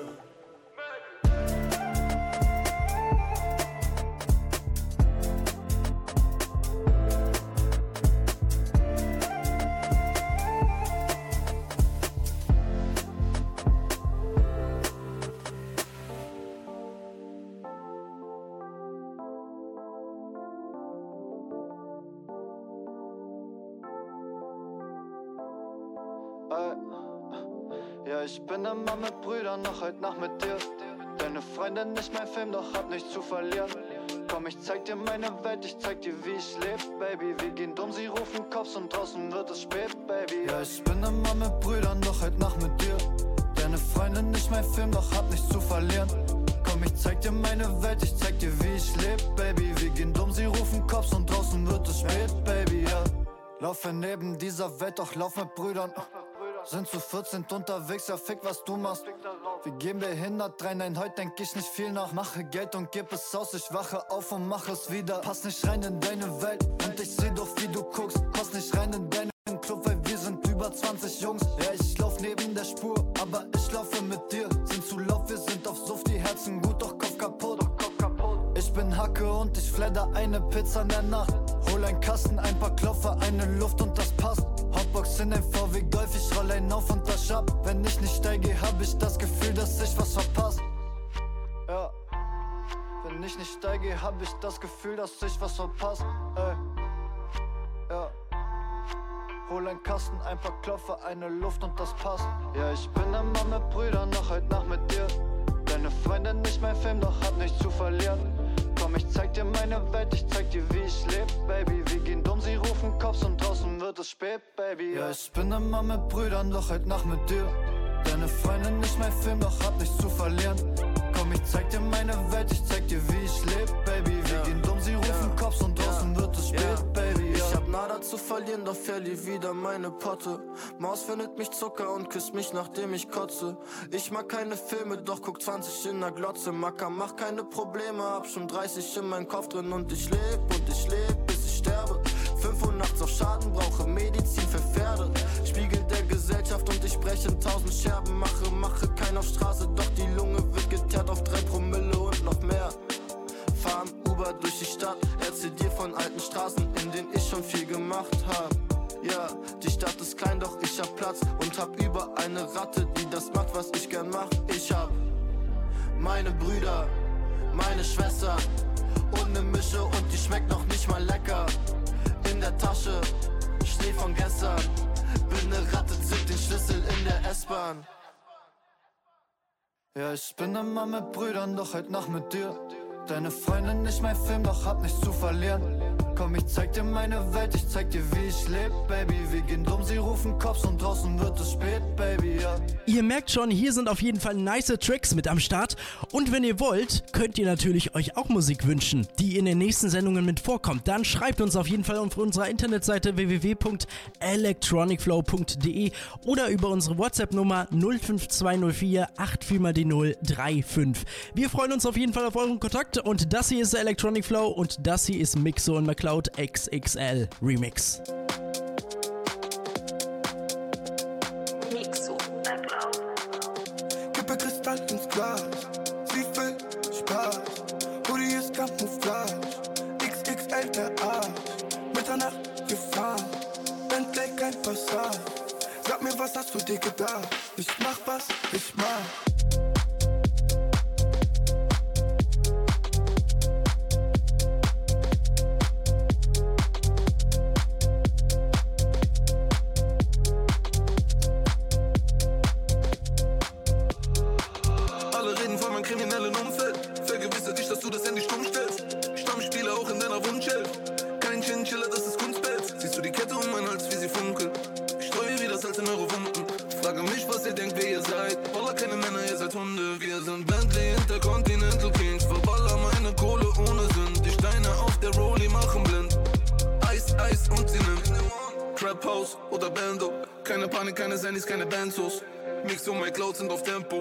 Ja, ich bin immer mit Brüdern, noch heute Nacht mit dir. Deine Freundin nicht mein Film, doch hab nichts zu verlieren. Komm, ich zeig dir meine Welt, ich zeig dir, wie ich leb, Baby. Wir gehen dumm, sie rufen Cops und draußen wird es spät, Baby. Ja, ich bin immer mit Brüdern, doch heute Nacht mit dir. Deine Freundin nicht mein Film, doch hab nichts zu verlieren. Komm, ich zeig dir meine Welt, ich zeig dir, wie ich leb, Baby. Wir gehen dumm, sie rufen Cops und draußen wird es spät, Baby, ja. Laufe neben dieser Welt, doch lauf mit Brüdern. Sind zu 14 unterwegs, ja fick was du machst. Wir gehen behindert rein, nein, heute denk ich nicht viel nach. Mache Geld und gib es aus, ich wache auf und mach es wieder. Pass nicht rein in deine Welt und ich seh doch wie du guckst. Pass nicht rein in deinen Club, weil wir sind über 20 Jungs. Ja, ich lauf neben der Spur, aber ich laufe mit dir. Sind zu laut, wir sind auf Suff, die Herzen gut, doch Kopf kaputt. Ich bin Hacke und ich fledder eine Pizza in der Nacht. Hol ein Kasten, ein paar Klopfer, eine Luft und das passt. Hotbox in ein VW Golf, ich roll einen auf und wasch ab. Wenn ich nicht steige, hab ich das Gefühl, dass ich was verpasst. Ja. Wenn ich nicht steige, hab ich das Gefühl, dass ich was verpasst. Ey. Ja. Hol ein Kasten, ein paar Klopfer, eine Luft und das passt. Ja, ich bin immer mit Brüdern, noch heute Nacht mit dir. Deine Freundin nicht mein Film, doch hab nichts zu verlieren. Komm, ich zeig dir meine Welt, ich zeig dir, wie ich leb, Baby. Wir gehen dumm, sie rufen Cops und draußen wird es spät, Baby. Ja, ich bin immer mit Brüdern, doch heute Nacht mit dir. Deine Freundin nicht mein Film, doch hab nichts zu verlieren. Komm, ich zeig dir meine Welt, ich zeig dir, wie ich leb, Baby. Wir gehen dumm, sie rufen Cops und draußen wird es spät, Baby. Ich hab hab nada zu verlieren, doch verlieh wieder meine Potte. Maus findet mich Zucker und küsst mich, nachdem ich kotze. Ich mag keine Filme, doch guck 20 in der Glotze. Macker, mach keine Probleme, hab schon 30 in meinem Kopf drin. Und ich leb, bis ich sterbe. 5 Uhr nachts auf Schaden, brauche Medizin für Pferde. Spiegel der Gesellschaft und ich breche in 1000 Scherben. Mache kein auf Straße, doch die Lunge wird geteert auf 3 Promille und noch mehr. Fahr im Uber durch die Stadt, erzähl dir von alten Straßen, in denen ich schon viel gemacht hab. Ja, die Stadt ist klein, doch ich hab Platz und hab über eine Ratte, die das macht, was ich gern mach. Ich hab meine Brüder, meine Schwester und ne Mische und die schmeckt noch nicht mal lecker. In der Tasche, Schnee von gestern, bin ne Ratte, zück den Schlüssel in der S-Bahn. Ja, ich bin immer mit Brüdern, doch heute Nacht mit dir. Deine Freundin nicht mein Film, doch hab nichts zu verlieren. Komm, ich zeig dir meine Welt, ich zeig dir, wie ich leb, Baby. Wir gehen dumm, sie rufen Cops und draußen wird es spät, Baby, ja. Ihr merkt schon, hier sind auf jeden Fall nice Tracks mit am Start. Und wenn ihr wollt, könnt ihr natürlich euch auch Musik wünschen, die in den nächsten Sendungen mit vorkommt. Dann schreibt uns auf jeden Fall auf unserer Internetseite www.electronicflow.de oder über unsere WhatsApp-Nummer 05204 84x035. Wir freuen uns auf jeden Fall auf euren Kontakt und das hier ist der Electronic Flow und das hier ist Mixo und McCloud XXL Remix. Mixo, McCloud. Kippe Kristall ins Glas, sie will Spaß. Hoodie ist Camouflage, XXL der Arsch. Mitternacht gefahren, Bentley kein Passat. Sag mir, was hast du dir gedacht? Ich mach, was ich mach. Kriminellen Umfeld, vergewissere dich, dass du das Handy stumm stellst. Stammspieler auch in deiner Wunschelf. Kein Chinchilla, das ist Kunstpelz. Siehst du die Kette um meinen Hals, wie sie funkelt? Ich streue wie das Salz in eure Wunden. Frage mich, was ihr denkt, wer ihr seid. Wallah, keine Männer, ihr seid Hunde. Wir sind Bentley, Intercontinental Kings. Verballer meine Kohle ohne Sinn. Die Steine auf der Rolli machen blind. Eis, Eis und sie nimmt Trap House oder Bando. Keine Panik, keine Sandys, keine Benzos. Mixo und McCloud sind auf Tempo.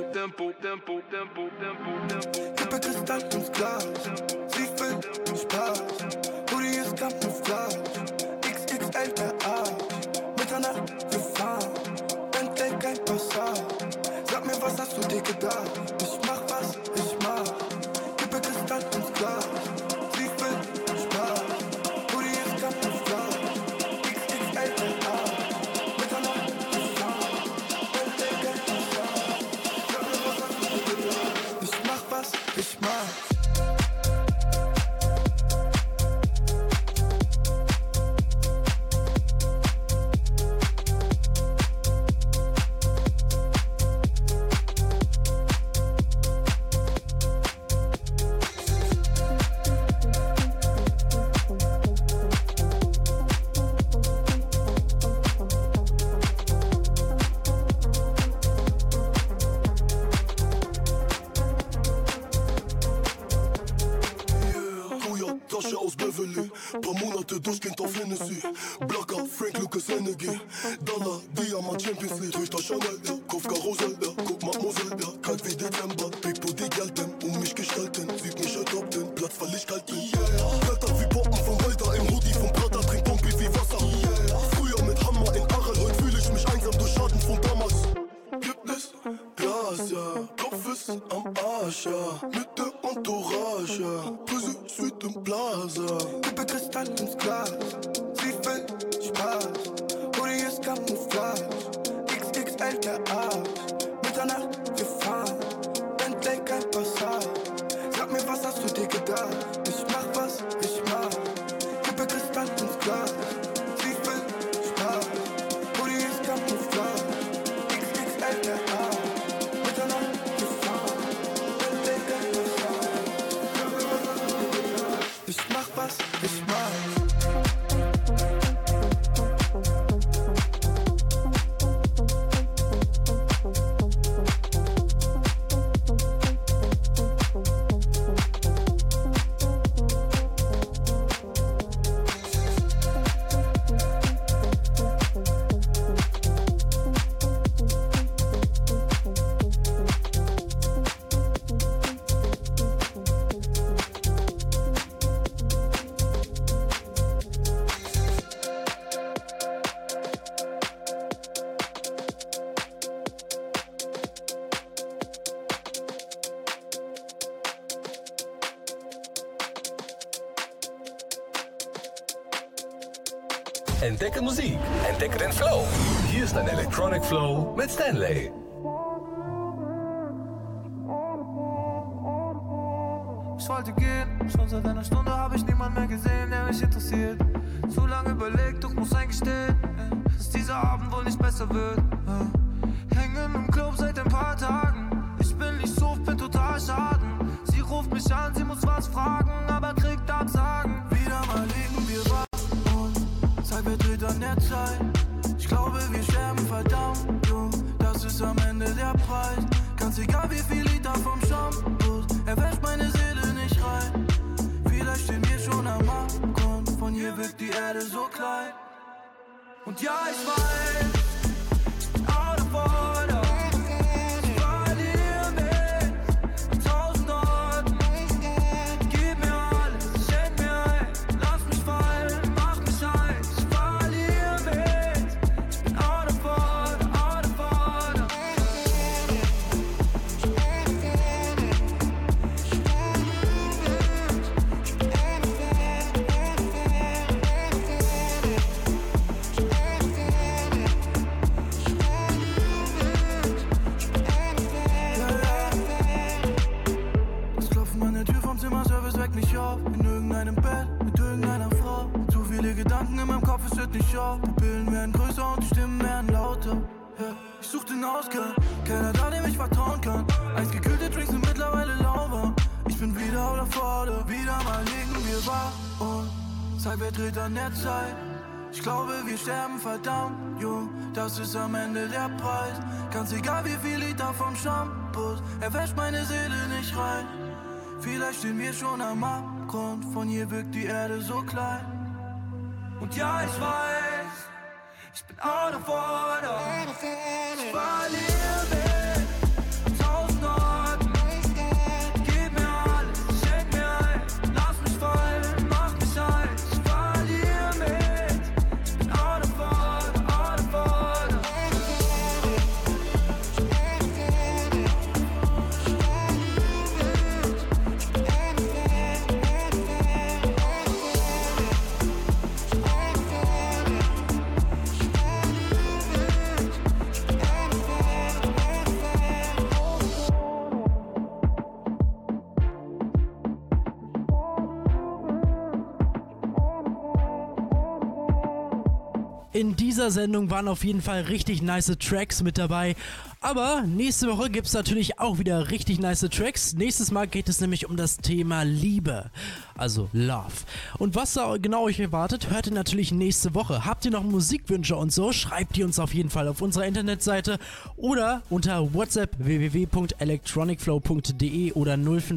Kippe Kristall ins Glas, sie will Spaß. Hoodie ist Camouflage, XXL der Arsch. Mitternacht gefahren, Bentley kein Passat. Sag mir, was hast du dir gedacht? Ich mach, was ich mach. Kippe Kristall ins Glas, sie will Spaß. Hoodie ist Camouflage, XXL der Arsch. Ich mach. Paar Monate durchgehend auf Hennessy. Blacker, Frank Lucas Energy. Dollar, Diamant, Champions League. Töchter Chanel, ja, Kopf Karussell, ja, guck Mademoiselle, ja. Kalt wie Dezember, Pipo die Gelten. Mich gestalten, sieht mich adopten. Platz, weil ich kalt bin, yeah. Blätter wie Poppen von Walter im Hoodie von Prada. Trink Pompi wie Wasser, yeah. Früher mit Hammer in Arel, heute fühl ich mich einsam durch Schaden von damals. Gibt es Glas, ja. Kopf ist am Arsch, ja. Mit der Entourage, ja. Pussy, Suite und Plaza. Kippe Kristall ins Glas, sie will Spaß. Hoodie ist Camouflage, XXL der Arsch. Mitternacht gefahren, Bentley kein Passat. Sag mir, was hast du dir gedacht? Ich mach, was ich mach. Kippe Kristall ins Glas, sie will Spaß. Hoodie ist Camouflage, XXL der Arsch. Mitternacht gefahren, Bentley kein Passat. Ich mach, was ich mach. Entdecke Musik, entdecke den Flow. Hier ist ein Electronic Flow mit Stanley. Ich wollte gehen, schon seit einer Stunde habe ich niemanden mehr gesehen, der mich interessiert. Zu lange überlegt, doch muss eingestehen, dass dieser Abend wohl nicht besser wird. Hängen im Club seit ein paar Tagen, ich bin nicht so, bin total schaden. Sie ruft mich an, sie muss was fragen, aber kriegt Absagen. Wieder mal liegen wir wach und Zeit verdreht an der Zeit. Ich glaube, wir sterben verdammt jung, das ist am Ende der Preis. Ganz egal wie viel Liter vom Shampoo, er wäscht meine Seele nicht rein. Vielleicht stehen wir schon am Abgrund, von hier wirkt die Erde so klein. Und ja, ich weiß, ich bin out of order. Ich verliere mich an 1000 Orten. Gib mir alles, schenk mir ein, lass mich fallen, mach mich heiß. Ich verliere mich, ich bin out of order, out of order. Mich auf, in irgendeinem Bett, mit irgendeiner Frau. Zu viele Gedanken in meinem Kopf, es hört nicht auf. Pupillen werden größer und die Stimmen werden lauter. Yeah. Ich such den Ausgang, keiner da, dem ich vertrauen kann. Eisgekühlte Drinks sind mittlerweile lauwarm. Ich bin wieder out of order, wieder mal liegen wir wach und Zeit verdreht an der Zeit. Ich glaube, wir sterben verdammt jung, das ist am Ende der Preis. Ganz egal wie viel Liter vom Shampoo, er wäscht meine Seele nicht rein. Vielleicht stehen wir schon am Abgrund, von hier wirkt die Erde so klein. Und ja, ich weiß, ich bin out of order. Ich verliere mich an 1000 Orten. Gib mir alles, schenk mir ein, lass mich fallen, mach mich heiß. Ich verliere mich, ich bin out of order, out of order. In dieser Sendung waren auf jeden Fall richtig nice Tracks mit dabei. Aber nächste Woche gibt es natürlich auch wieder richtig nice Tracks. Nächstes Mal geht es nämlich um das Thema Liebe, also Love. Und was da genau euch erwartet, hört ihr natürlich nächste Woche. Habt ihr noch Musikwünsche und so, schreibt die uns auf jeden Fall auf unserer Internetseite oder unter WhatsApp www.electronicflow.de oder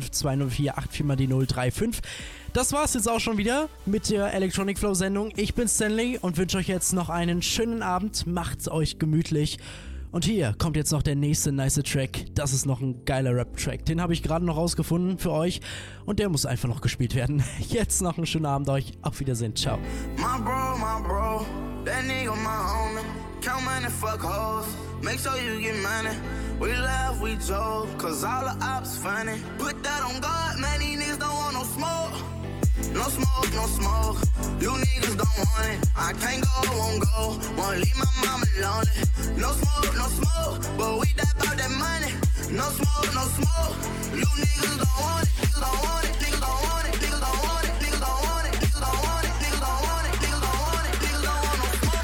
0520484 Das war's jetzt auch schon wieder mit der Electronic Flow Sendung. Ich bin Stanley und wünsche euch jetzt noch einen schönen Abend. Macht's euch gemütlich. Und hier kommt jetzt noch der nächste nice Track. Das ist noch ein geiler Rap-Track. Den habe ich gerade noch rausgefunden für euch. Und der muss einfach noch gespielt werden. Jetzt noch einen schönen Abend euch. Auf Wiedersehen. Ciao. My bro, that nigga my homie. Count money, fuck hoes. Make sure you get money. We laugh, we joke, cause all the ops funny. Put that on God, man, these niggas don't want no smoke. No smoke, no smoke. You niggas don't want it. I can't go, won't go. Won't leave my mama lonely. No smoke, but we die about that money. No smoke, no smoke. You niggas don't want it. Niggas don't want it. Niggas don't want it. Niggas don't want it. Niggas don't want it. Niggas don't want it. Niggas don't want it. Niggas don't want it. Niggas don't want no smoke.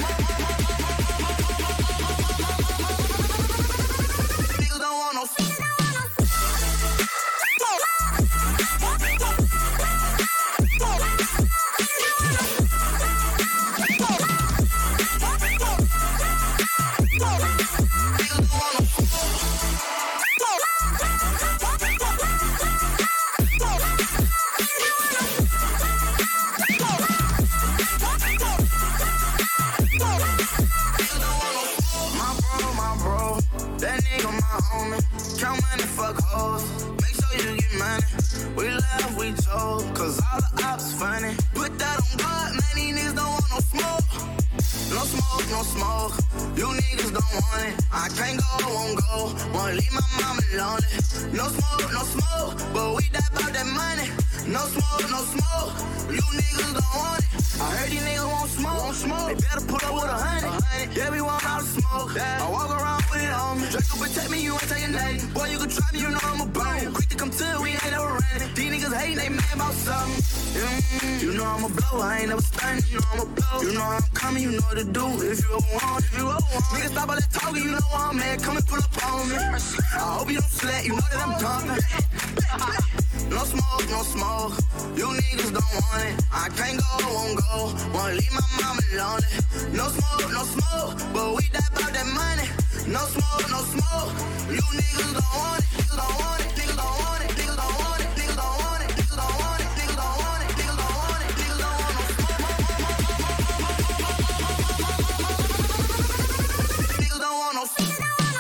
Niggas don't want no smoke. No smoke, no smoke. You niggas don't want it. I can't go, won't go. Wanna leave my mama lonely. No smoke, but we die about that money. No smoke, no smoke. You niggas don't want it. I heard these niggas won't smoke. They better pull up with 100. Yeah, we want all the smoke. I walk around with it on me. Draco protect me, you ain't taking nothing. Boy, you can try me, you know I'm a bone. Quick to come to it, we ain't never running. These niggas hating, they mad about something. You know I'm a blow, I ain't never stunning. You know I'm a blow. You know I'm coming, you know what to do. If you ever want, niggas stop all that talking, you know I'm mad. Come and pull up on me. I hope you don't sweat, you know that I'm dumping. No smoke, no smoke. You niggas don't want it. I can't go, won't go. Wanna leave my mama lonely. No smoke, but we die about that money. No smoke, no smoke. You niggas don't want it. Niggas don't want it. Niggas don't want it. Niggas don't want it. Niggas don't want it. Niggas don't want it. Niggas don't want it. Niggas don't want it. Niggas don't want no smoke. Niggas don't want no smoke.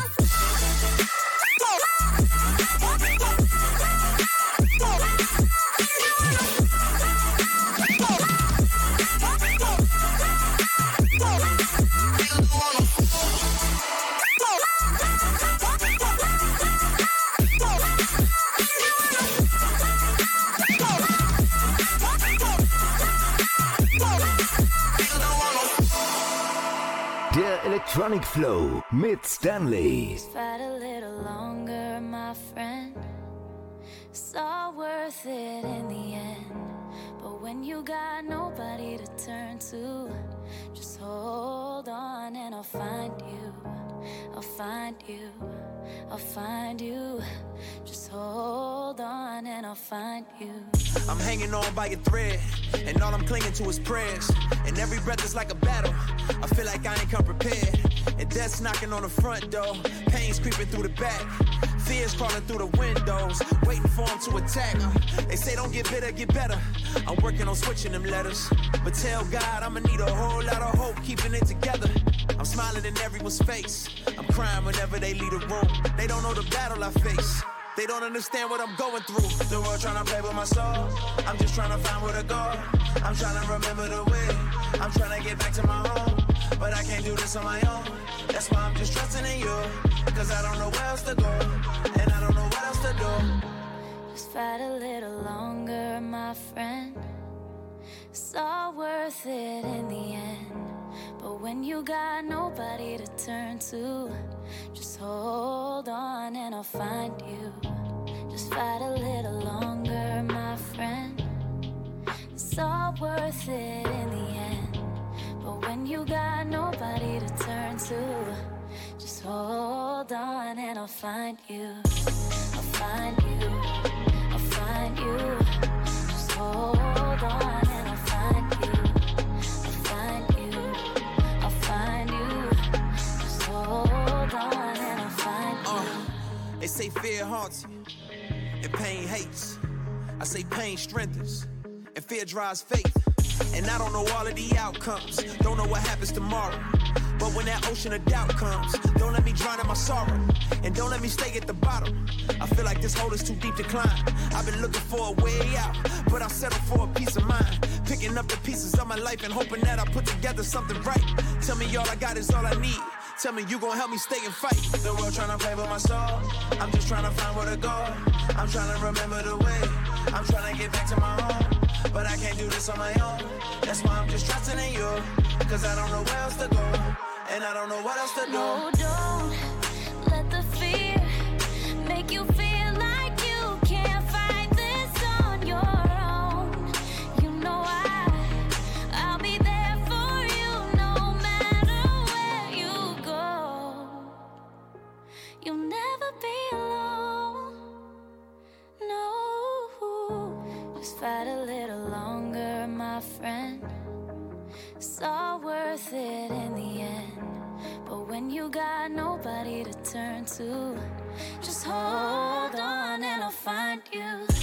Der Electronic Flow mit Stanley. Fight a little longer, my friend. It's all worth it in the end. But when you got nobody to turn to, just hold on and I'll find you. I'll find you. I'll find you. Just hold on and I'll find you. I'm hanging on by a thread, and all I'm clinging to is prayers. And every breath is like a battle. I feel like I ain't come prepared. And death's knocking on the front door. Pain's creeping through the back. Fears crawling through the windows, waiting for them to attack. They say don't get bitter, get better. I'm working on switching them letters. But tell God I'ma need a whole lot of hope, keeping it together. I'm smiling in everyone's face. I'm crying whenever they leave the room. They don't know the battle I face. They don't understand what I'm going through. The world trying to play with my soul. I'm just trying to find where to go. I'm trying to remember the way. I'm trying to get back to my home. But I can't do this on my own. That's why I'm just trusting in you. Cause I don't know where else to go. And I don't know what else to do. Just fight a little longer, my friend. It's all worth it in the end. But when you got nobody to turn to, just hold on and I'll find you. Just fight a little longer, my friend. It's all worth it in the end. But when you got nobody to turn to, just hold on and I'll find you. I'll find you. I'll find you. Just hold on and I'll find you. I'll find you. I'll find you. Just hold on and I'll find you. They say fear haunts you and pain hates. I say pain strengthens and fear drives faith. And I don't know all of the outcomes, don't know what happens tomorrow. But when that ocean of doubt comes, don't let me drown in my sorrow. And don't let me stay at the bottom. I feel like this hole is too deep to climb. I've been looking for a way out, but I settle for a peace of mind. Picking up the pieces of my life and hoping that I put together something right. Tell me all I got is all I need. Tell me you gon' help me stay and fight. The world tryna play with my soul. I'm just tryna find where to go. I'm tryna remember the way. I'm tryna get back to my home. But I can't do this on my own. That's why I'm just trusting in you. Cause I don't know where else to go. And I don't know what else to do. No, don't let the fear make you feel like you can't fight this on your own. You know I'll be there for you no matter where you go. You'll never be alone. No, just fight a little longer, my friend. It's all worth it in the end. But when you got nobody to turn to, just hold on and I'll find you.